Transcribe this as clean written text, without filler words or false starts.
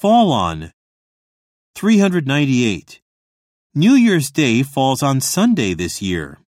fall on. 398. New Year's Day falls on Sunday this year.